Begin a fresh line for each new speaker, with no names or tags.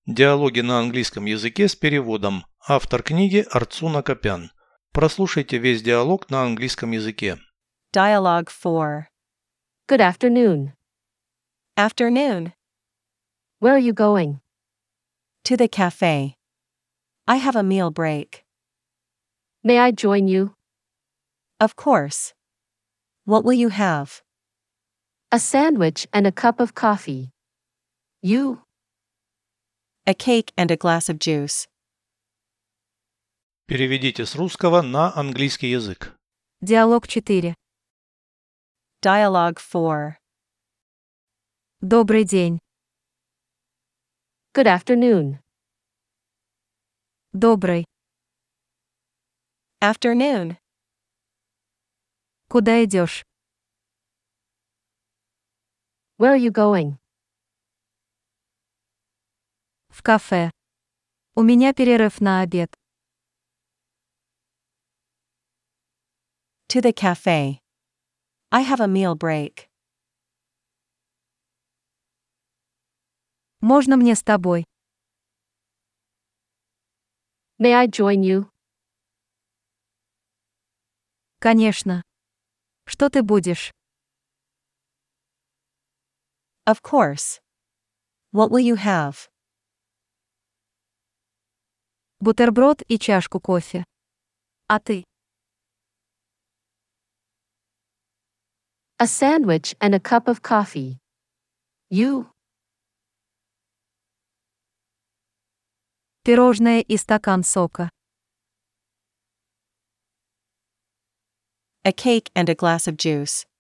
Диалоги на английском языке с переводом. Автор книги Арцуна Копян. Прослушайте весь диалог на английском языке.
Dialogue 4.
Good afternoon.
Afternoon.
Where are you going?
To the cafe. I have a meal break.
May I join you?
Of course. What will you have?
A sandwich and a cup of coffee. You?
A cake and a glass of juice.
Переведите с русского на английский язык.
Диалог 4.
Dialogue 4.
Добрый день.
Good afternoon.
Добрый.
Afternoon.
Куда идешь?
Where are you going?
В кафе. У меня перерыв на обед.
To the cafe. I have a meal break.
Можно мне с тобой?
May I join you?
Конечно. Что ты будешь?
Of course. What will you have?
Бутерброд и чашку кофе. А ты?
A sandwich and a cup of coffee. You?
Пирожное и стакан сока.
A cake and a glass of juice.